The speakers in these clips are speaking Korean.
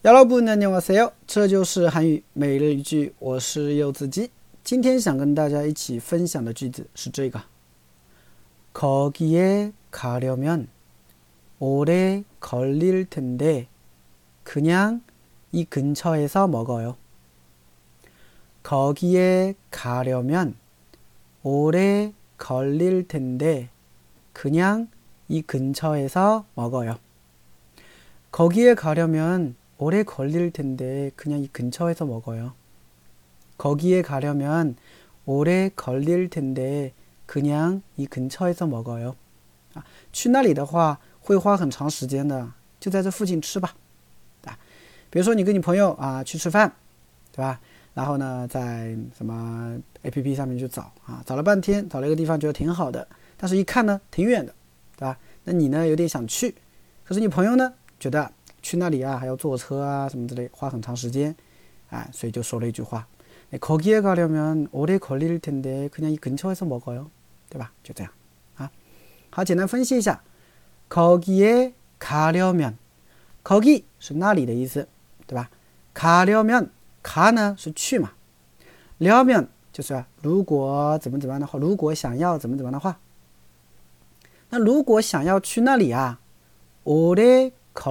여러분 안녕하세요，这就是韩语每日一句，我是柚子鸡。今天想跟大家一起分享的句子是这个： 거기에 가려면 오래 걸릴 텐데 그냥 이 근처에서 먹어요. 거기에 가려면 오래 걸릴 텐데 그냥 이 근처에서 먹어요. 거기에 가려면 오래 걸릴 텐데 그냥 이 근처에서 먹어요. 거기에 가려면 오래 걸릴 텐데 그냥 이 근처에서 먹어요. 去那里的话会花很长时间的，就在这附近吃吧。比如说你跟你朋友去吃饭，对吧？然后呢在什么 APP 上面去找找了半天，找了一个地方觉得挺好的，但是一看呢挺远的，对吧？那你呢有点想去，可是你朋友呢觉得去那里还要坐车什么之类，花很长时间，所以就说了一句话， 거기에 가려면 오래 걸릴 텐데 그냥 이 근처에서 먹어요， 对吧？就这样好，简单分析一下， 거기에 가려면， 거기是那里的意思，对吧？ 가려면， 가呢是去嘛， 려면就是如果怎么样的话，如果想要怎么样的话，那如果想要去那里오래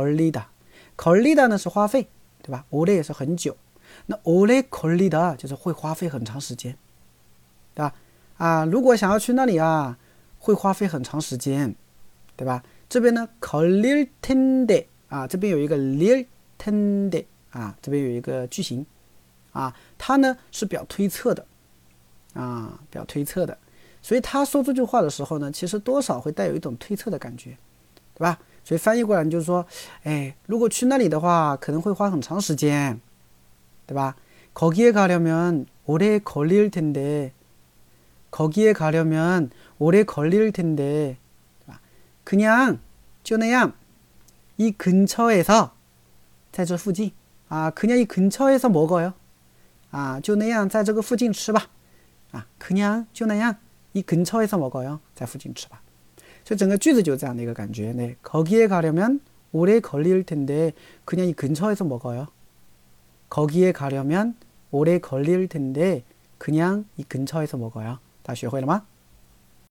걸리다呢是花费，对吧？ 오래也是很久，那오래 걸리다就是会花费很长时间，对吧？如果想要去那里会花费很长时间，对吧？这边呢걸릴 텐데这边有一个릴 텐데这边有一个句型它呢是表推测的表推测的，所以他说这句话的时候呢，其实多少会带有一种推测的感觉，对吧？所以翻译过来就是说，如果去那里的话可能会花很长时间，对吧？ 거기에 가려면 오래 걸릴 텐데 거기에 가려면 오래 걸릴 텐데 그냥 就那样 이 근처에서 在这附近그냥 이 근처에서 먹어요 就那样在这个附近吃吧그냥 就那样 이 근처에서 먹어요 在附近吃吧。所以整个句子就这样的一个感觉。 거기에 가려면 오래 걸릴 텐데 그냥 이 근처에서 먹어요. 거기에 가려면 오래 걸릴 텐데 그냥 이 근처에서 먹어요. 다 学会了吗？